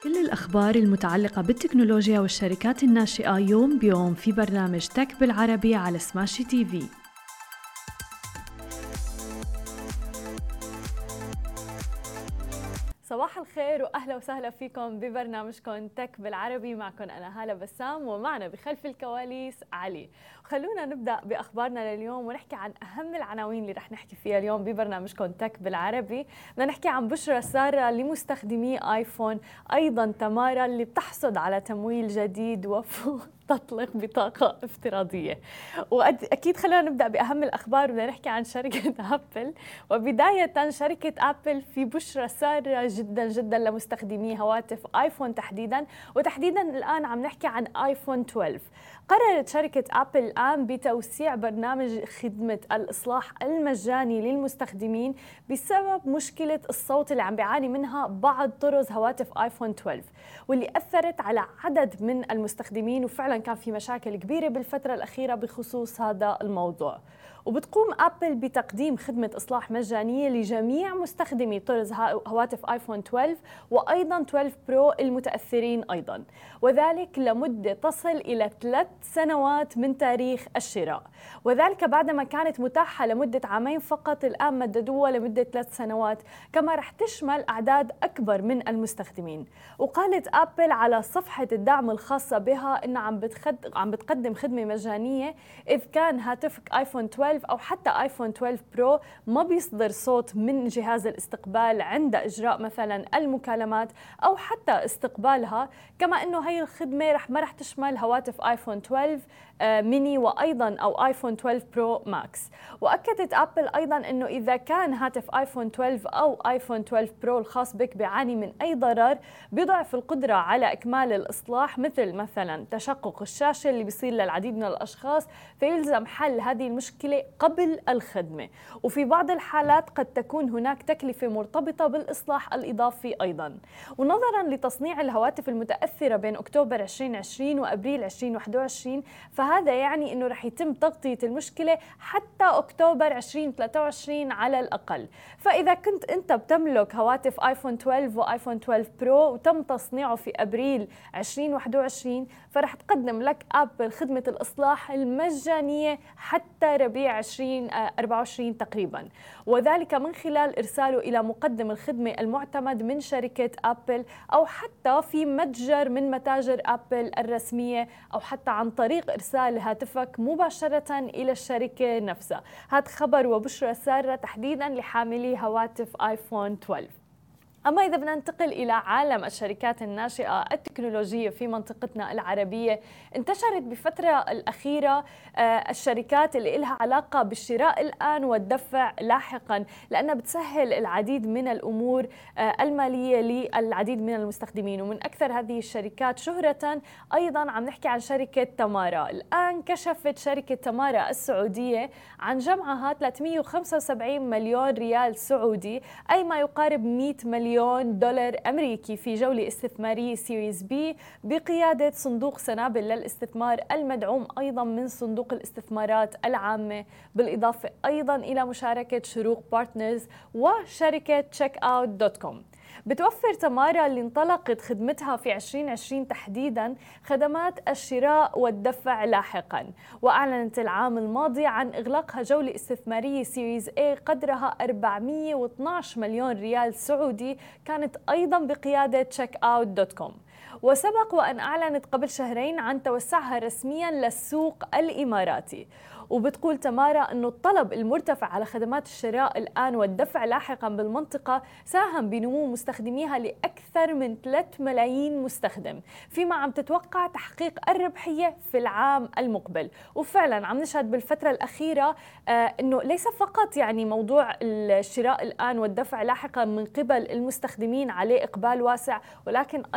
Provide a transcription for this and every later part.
كل الأخبار المتعلقة بالتكنولوجيا والشركات الناشئة يوم بيوم في برنامج تك بالعربي على سماشي تي في. صباح الخير واهلا وسهلا فيكم ببرنامجكم تك بالعربي. معكم انا هالة بسام ومعنا بخلف الكواليس علي. خلونا نبدا باخبارنا لليوم ونحكي عن اهم العناوين اللي رح نحكي فيها اليوم ببرنامجكم تك بالعربي. بدنا نحكي عن بشرى ساره لمستخدمي ايفون، ايضا تمارا اللي بتحصد على تمويل جديد تطلق بطاقة افتراضية. وأكيد خلينا نبدأ بأهم الأخبار. بدنا نحكي عن شركة أبل، وبداية شركة أبل في بشرى سارة جدا جدا لمستخدمي هواتف آيفون وتحديدا الآن عم نحكي عن آيفون 12. قررت شركة أبل الآن بتوسيع برنامج خدمة الإصلاح المجاني للمستخدمين بسبب مشكلة الصوت اللي عم بيعاني منها بعض طرز هواتف آيفون 12، واللي أثرت على عدد من المستخدمين، وفعلا كان في مشاكل كبيرة بالفترة الأخيرة بخصوص هذا الموضوع. وبتقوم أبل بتقديم خدمة إصلاح مجانية لجميع مستخدمي طرز هواتف آيفون 12 وأيضا 12 برو المتأثرين أيضا، وذلك لمدة تصل إلى 3 سنوات من تاريخ الشراء، وذلك بعدما كانت متاحة لمدة عامين فقط. الآن مددوها لمدة 3 سنوات، كما رح تشمل أعداد أكبر من المستخدمين. وقالت أبل على صفحة الدعم الخاصة بها إنها عم بتقدم خدمة مجانية إذ كان هاتفك آيفون 12 أو حتى آيفون 12 برو ما بيصدر صوت من جهاز الاستقبال عند إجراء مثلا المكالمات أو حتى استقبالها. كما إنه هي الخدمة ما رح تشمل هواتف آيفون 12 ميني وأيضا أو آيفون 12 برو ماكس. وأكدت أبل أيضا أنه إذا كان هاتف آيفون 12 أو آيفون 12 برو الخاص بك بيعاني من أي ضرر بيضعف القدرة على إكمال الإصلاح، مثلا تشقق الشاشة اللي بيصير للعديد من الأشخاص، فيلزم حل هذه المشكلة قبل الخدمة. وفي بعض الحالات قد تكون هناك تكلفة مرتبطة بالإصلاح الإضافي أيضا. ونظرا لتصنيع الهواتف المتأثرة بين أكتوبر 2020 وأبريل 2021، فهذا يعني أنه رح يتم تغطية المشكلة حتى أكتوبر 2023 على الأقل. فإذا كنت أنت بتملك هواتف آيفون 12 وآيفون 12 برو وتم تصنيعه في أبريل 2021، فرح تقدم لك أبل خدمة الإصلاح المجانية حتى ربيع 2024 تقريبا، وذلك من خلال إرساله إلى مقدم الخدمة المعتمد من شركة أبل أو حتى في متجر من متاجر أبل الرسمية أو حتى عن طريق إرسال هاتفك مباشرة إلى الشركة نفسها. هذا خبر وبشرى سارة تحديدا لحاملي هواتف آيفون 12. أما إذا بدنا ننتقل إلى عالم الشركات الناشئة التكنولوجية في منطقتنا العربية، انتشرت بفترة الأخيرة الشركات اللي لها علاقة بالشراء الآن والدفع لاحقا، لأنها بتسهل العديد من الأمور المالية للعديد من المستخدمين. ومن أكثر هذه الشركات شهرة أيضا عم نحكي عن شركة تمارا. الآن كشفت شركة تمارا السعودية عن جمعها 375 مليون ريال سعودي، أي ما يقارب 100 مليون دولار أمريكي، في جولة استثمارية سيريز بي بقيادة صندوق سنابل للاستثمار المدعوم أيضا من صندوق الاستثمارات العامة، بالإضافة أيضا إلى مشاركة شروق بارتنرز وشركة checkout.com. بتوفر تمارا اللي انطلقت خدمتها في 2020 تحديدا خدمات الشراء والدفع لاحقا، وأعلنت العام الماضي عن إغلاقها جولة استثمارية سيريز A قدرها 412 مليون ريال سعودي، كانت أيضا بقيادة checkout.com. وسبق وأن أعلنت قبل شهرين عن توسعها رسميا للسوق الإماراتي. وبتقول تمارا أنه الطلب المرتفع على خدمات الشراء الآن والدفع لاحقا بالمنطقة ساهم بنمو مستخدميها لأكثر من 3 ملايين مستخدم، فيما عم تتوقع تحقيق الربحية في العام المقبل. وفعلا عم نشهد بالفترة الأخيرة أنه ليس فقط يعني موضوع الشراء الآن والدفع لاحقا من قبل المستخدمين عليه إقبال واسع، ولكن أيضا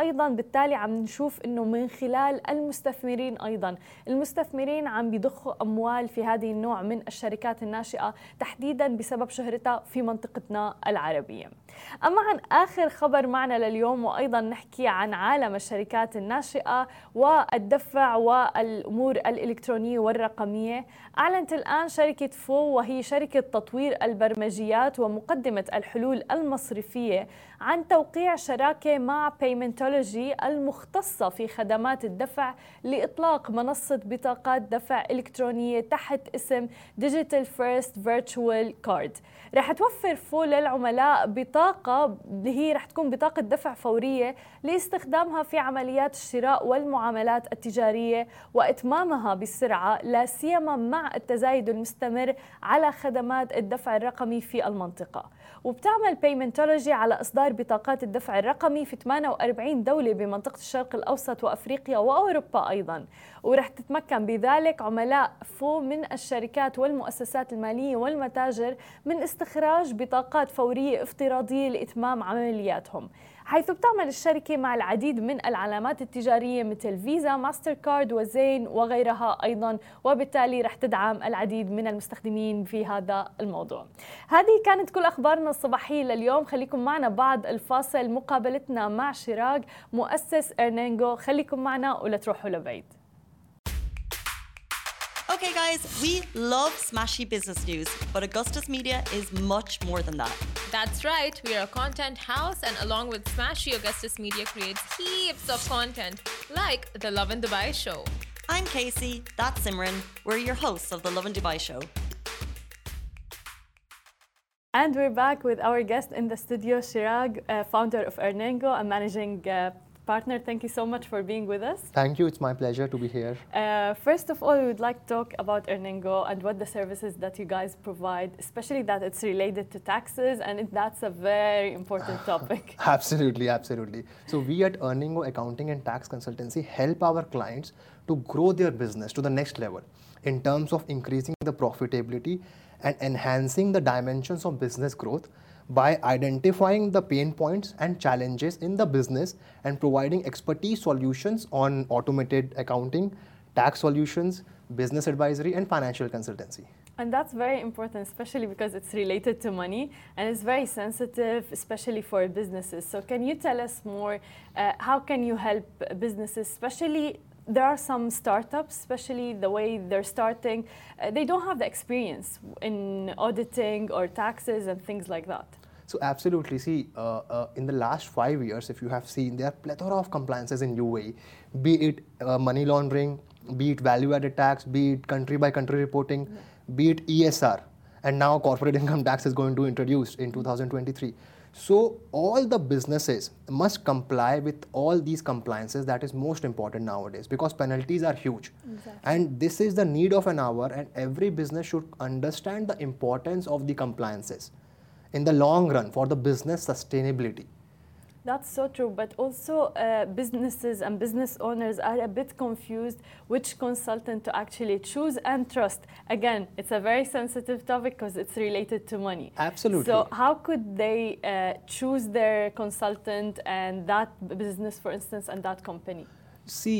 وبالتالي عم نشوف إنه من خلال المستثمرين أيضا، المستثمرين عم بيضخوا أموال في هذه النوع من الشركات الناشئة تحديدا بسبب شهرتها في منطقتنا العربية. أما عن آخر خبر معنا لليوم، وأيضا نحكي عن عالم الشركات الناشئة والدفع والأمور الإلكترونية والرقمية. أعلنت الآن شركة فو، وهي شركة تطوير البرمجيات ومقدمة الحلول المصرفية، عن توقيع شراكة مع بيمنتولوجي المختصة في خدمات الدفع لإطلاق منصة بطاقات دفع إلكترونية تحت اسم Digital First Virtual Card. رح توفر فو للعملاء بطاقة اللي هي رح تكون بطاقة دفع فورية لاستخدامها في عمليات الشراء والمعاملات التجارية وإتمامها بسرعة، لا سيما مع التزايد المستمر على خدمات الدفع الرقمي في المنطقة. وبتعمل بيمنتولوجي على إصدار بطاقات الدفع الرقمي في 48 دولة بمنطقة الشرق الأوسط وأفريقيا وأوروبا أيضاً، ورح تتمكن بذلك عملاء فو من الشركات والمؤسسات المالية والمتاجر من استخراج بطاقات فورية افتراضية لإتمام عملياتهم، حيث بتعمل الشركة مع العديد من العلامات التجارية مثل فيزا، ماستر كارد وزين وغيرها أيضاً، وبالتالي رح تدعم العديد من المستخدمين في هذا الموضوع. هذه كانت كل أخبارنا الصباحية لليوم. خليكم معنا بعد الفاصل مقابلتنا مع شراق مؤسس إرنينجو. خليكم معنا ولا تروحوا لبعيد. Okay guys, we love smashy business news, but Augustus Media is much more than that. That's right, we are a content house, and along with Smashy, Augustus Media creates heaps of content, like the Lovin Dubai show. I'm Casey, that's Simran. We're your hosts of the Lovin Dubai show. And we're back with our guest in the studio, Chirag, founder of Erningo and managing partner. Thank you so much for being with us. Thank you. It's my pleasure to be here. First of all, we would like to talk about Erningo and what the services that you guys provide, especially that it's related to taxes, and that's a very important topic. Absolutely, absolutely. So we at Erningo Accounting and Tax Consultancy help our clients to grow their business to the next level in terms of increasing the profitability and enhancing the dimensions of business growth by identifying the pain points and challenges in the business and providing expertise solutions on automated accounting, tax solutions, business advisory, and financial consultancy. And that's very important, especially because it's related to money and it's very sensitive, especially for businesses. So can you tell us more, how can you help businesses, especially there are some startups, especially the way they're starting, they don't have the experience in auditing or taxes and things like that. So absolutely, see, in the last 5 years, if you have seen, there are plethora of compliances in UAE, be it money laundering, be it value-added tax, be it country-by-country reporting, be it ESR, and now corporate income tax is going to be introduced in 2023. So all the businesses must comply with all these compliances. That is most important nowadays because penalties are huge. Exactly. And this is the need of an hour, and every business should understand the importance of the compliances in the long run for the business sustainability. That's so true, but also businesses and business owners are a bit confused which consultant to actually choose and trust. Again, it's a very sensitive topic because it's related to money. Absolutely. So how could they choose their consultant and that business, for instance, and that company? See,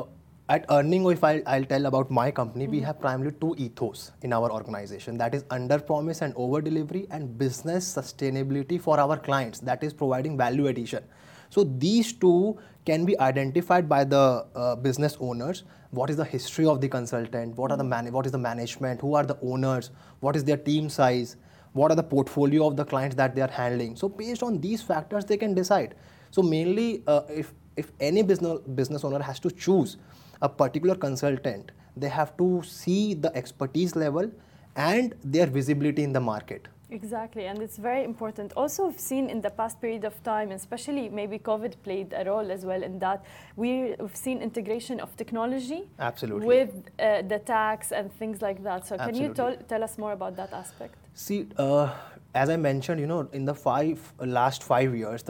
at Erningo, if I'll tell about my company, we have primarily 2 ethos in our organization. That is under promise and over delivery, and business sustainability for our clients. That is providing value addition. So these 2 can be identified by the business owners. What is the history of the consultant? What is the management? Who are the owners? What is their team size? What are the portfolio of the clients that they are handling? So based on these factors, they can decide. So mainly, if any business owner has to choose a particular consultant, they have to see the expertise level and their visibility in the market. Exactly, and it's very important. Also, we've seen in the past period of time, especially maybe COVID played a role as well in that, we've seen integration of technology. Absolutely. With the tax and things like that. So can you tell us more about that aspect? See, as I mentioned, in the last 5 years,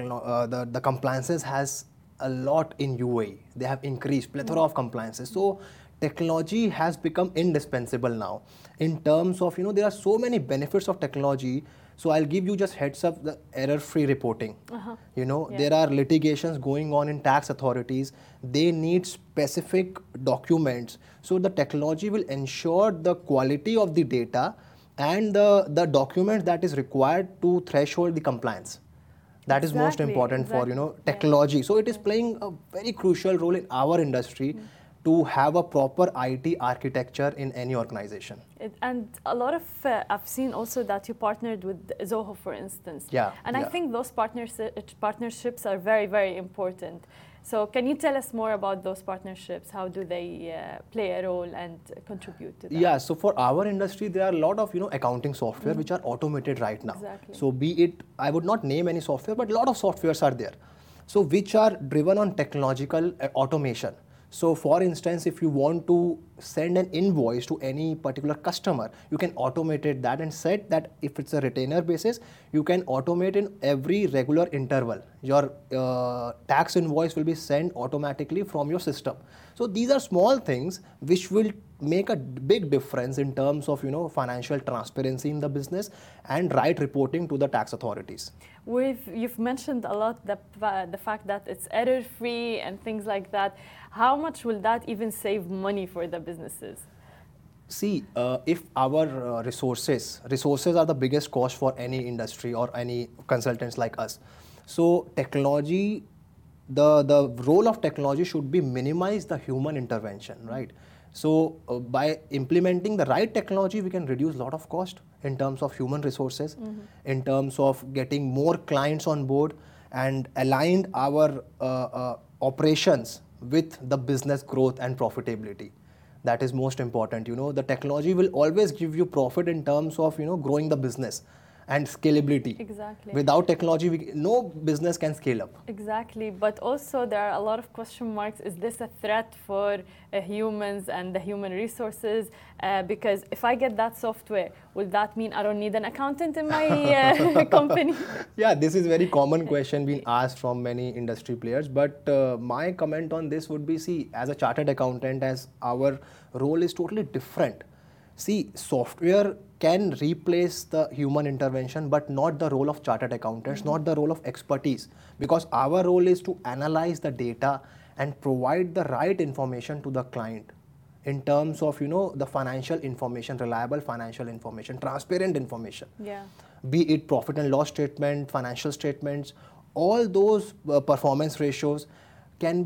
the compliances has a lot in UAE. They have increased plethora of compliances. So technology has become indispensable now in terms of, there are so many benefits of technology So I'll give you just heads up the error-free reporting. There are litigations going on in tax authorities. They need specific documents. So the technology will ensure the quality of the data and the document that is required to threshold the compliance. That is most important for technology. So it is playing a very crucial role in our industry to have a proper IT architecture in any organization. And a lot of, I've seen also that you partnered with Zoho, for instance. I think those partnerships are very, very important. So can you tell us more about those partnerships? How do they play a role and contribute to that? Yeah, so for our industry, there are a lot of accounting software which are automated right now. So be it, I would not name any software, but a lot of softwares are there. So which are driven on technological automation. So for instance, if you want to send an invoice to any particular customer, you can automate that and set that if it's a retainer basis, you can automate in every regular interval. Your tax invoice will be sent automatically from your system. So these are small things which will make a big difference in terms of financial transparency in the business and right reporting to the tax authorities. You've mentioned a lot the fact that it's error-free and things like that. How much will that even save money for the businesses? See, if our resources are the biggest cost for any industry or any consultants like us. So technology, the role of technology should be minimize the human intervention, right? So by implementing the right technology, we can reduce a lot of cost in terms of human resources, in terms of getting more clients on board and aligned our operations with the business growth and profitability. That is most important. The technology will always give you profit in terms of growing the business and scalability. Exactly. Without technology, no business can scale up. Exactly. But also there are a lot of question marks. Is this a threat for humans and the human resources? Because if I get that software, will that mean I don't need an accountant in my company? Yeah, this is a very common question being asked from many industry players. But my comment on this would be, see, as a chartered accountant, as our role is totally different. See, software can replace the human intervention, but not the role of chartered accountants, not the role of expertise, because our role is to analyze the data and provide the right information to the client in terms of, the financial information, reliable financial information, transparent information. Yeah. Be it profit and loss statement, financial statements, all those performance ratios cannot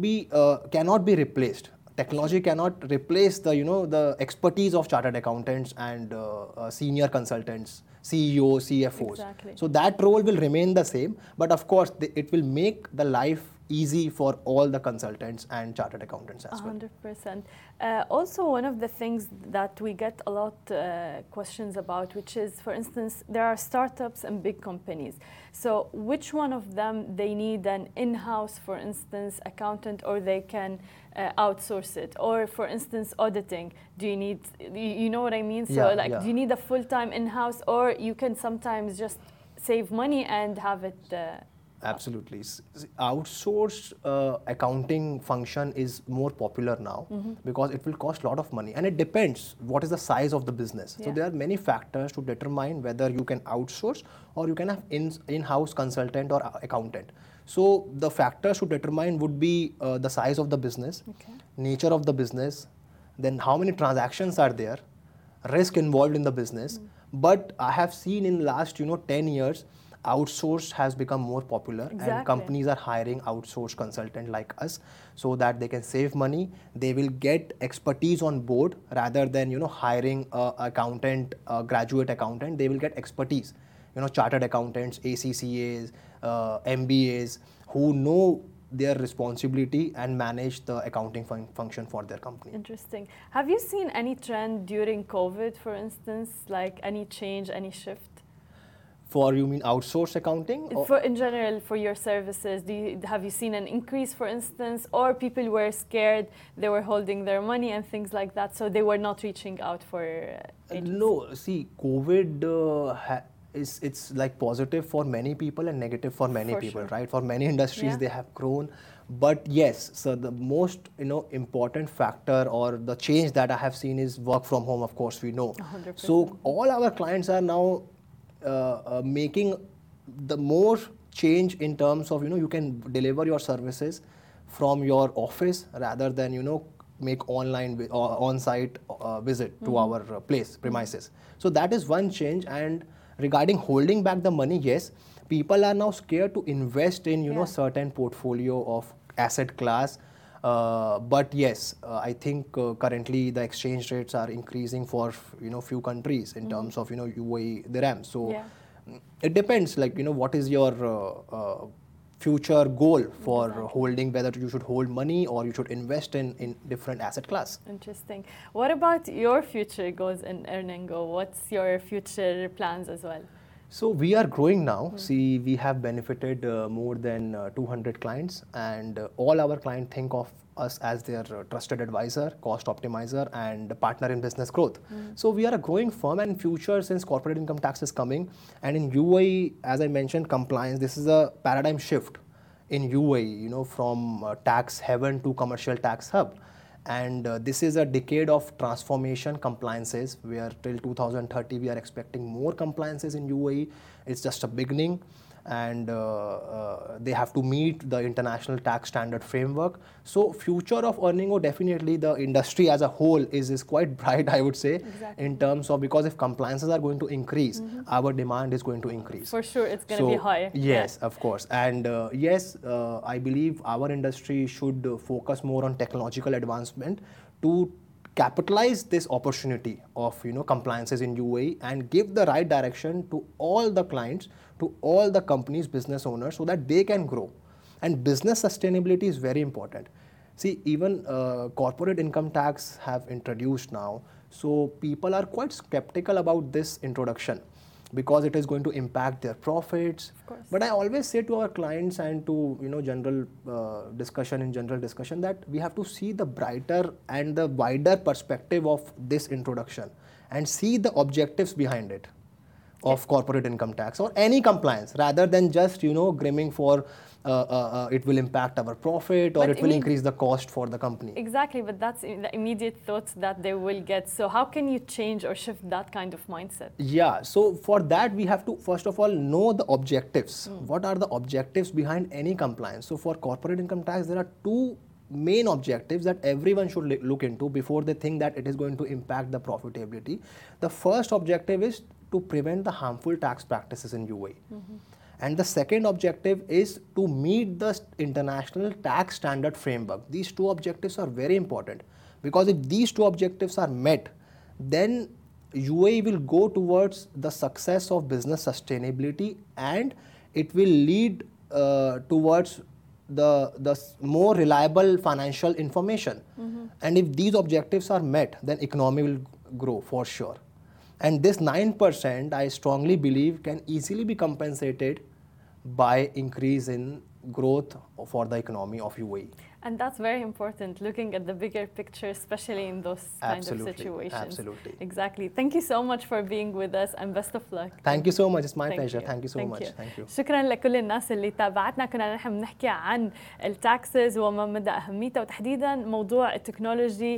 be replaced. Technology cannot replace the expertise of chartered accountants and senior consultants, CEOs, CFOs. Exactly. So that role will remain the same, but of course it will make the life easy for all the consultants and chartered accountants as well. 100%. Also, one of the things that we get a lot questions about, which is, for instance, there are startups and big companies. So which one of them they need an in-house, for instance, accountant, or they can outsource it? Or, for instance, auditing, do you need, you know what I mean? So do you need a full-time in-house, or you can sometimes just save money and have it Absolutely. Outsourced accounting function is more popular now because it will cost a lot of money, and it depends what is the size of the business. So there are many factors to determine whether you can outsource or you can have in-house consultant or accountant. So the factors to determine would be the size of the business, nature of the business, then how many transactions are there, risk involved in the business. But I have seen in last 10 years, outsourced has become more popular, and companies are hiring outsourced consultant like us so that they can save money. They will get expertise on board rather than hiring a accountant, a graduate accountant. They will get expertise, chartered accountants, ACCAs, MBAs who know their responsibility and manage the accounting function for their company. Interesting. Have you seen any trend during COVID, for instance, like any change, any shift? For, you mean outsource accounting? For in general, for your services, have you seen an increase, for instance, or people were scared, they were holding their money and things like that, so they were not reaching out for agencies? No, see, COVID it's like positive for many people and negative for many people, right? For many industries, they have grown. But yes, so the most important factor or the change that I have seen is work from home, of course, we know. 100%. So all our clients are now making the more change in terms of, you can deliver your services from your office rather than, make online on-site visit to our premises. So that is one change. And regarding holding back the money, yes, people are now scared to invest in, certain portfolio of asset class. But yes, I think currently the exchange rates are increasing for, few countries in terms of, UAE dirham. So it depends, like, what is your future goal for holding, whether you should hold money or you should invest in different asset class. Interesting. What about your future goals in Earningo? What's your future plans as well? So we are growing now. See, we have benefited more than 200 clients, and all our clients think of us as their trusted advisor, cost optimizer, and partner in business growth. So we are a growing firm, and future, since corporate income tax is coming, and in UAE, as I mentioned, compliance, this is a paradigm shift in UAE, from tax heaven to commercial tax hub. And this is a decade of transformation compliances, where till 2030 we are expecting more compliances in UAE. It's just a beginning, and they have to meet the international tax standard framework. So future of Earningo, definitely the industry as a whole is quite bright, I would say, in terms of, because if compliances are going to increase, our demand is going to increase. For sure, it's going to be high. Yes, of course. And yes, I believe our industry should focus more on technological advancement to capitalize this opportunity of, compliances in UAE and give the right direction to all the clients, to all the companies, business owners, so that they can grow. And business sustainability is very important. See, even corporate income tax have introduced now, so people are quite skeptical about this introduction because it is going to impact their profits. But I always say to our clients and to, general discussion that we have to see the brighter and the wider perspective of this introduction and see the objectives behind it of corporate income tax or any compliance, rather than just, grimming for it will impact our profit or it will increase the cost for the company. Exactly, but that's the immediate thoughts that they will get. So how can you change or shift that kind of mindset? Yeah, so for that we have to first of all know the objectives. What are the objectives behind any compliance? So for corporate income tax, there are two main objectives that everyone should look into before they think that it is going to impact the profitability. The first objective is to prevent the harmful tax practices in UAE. And the second objective is to meet the international tax standard framework. These two objectives are very important, because if these two objectives are met, then UAE will go towards the success of business sustainability, and it will lead towards the more reliable financial information. And if these objectives are met, then economy will grow for sure. And this 9%, I strongly believe, can easily be compensated by increase in growth for the economy of UAE. And that's very important, looking at the bigger picture, especially in those kinds of situations. Absolutely. Exactly. Thank you so much for being with us, and best of luck. Thank you so much. It's my pleasure. Thank you so much. Thank you. شكرا لكل الناس اللي تابعتنا. كنا نحن بنحكي عن التاكسز وما مدى أهميتها، وتحديدا موضوع التكنولوجي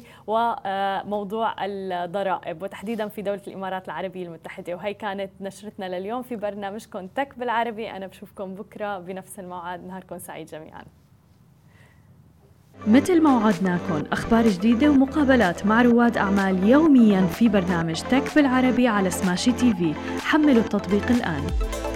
وموضوع الضرائب، وتحديدا في دولة الإمارات العربية المتحدة. وهي كانت نشرتنا لليوم في برنامجكم تك بالعربي. أنا بشوفكم بكرة بنفس الموعد. نهاركم سعيد جميعا. مثل ما وعدناكم، أخبار جديدة ومقابلات مع رواد أعمال يومياً في برنامج تك بالعربي على سماشي تي في. حملوا التطبيق الآن.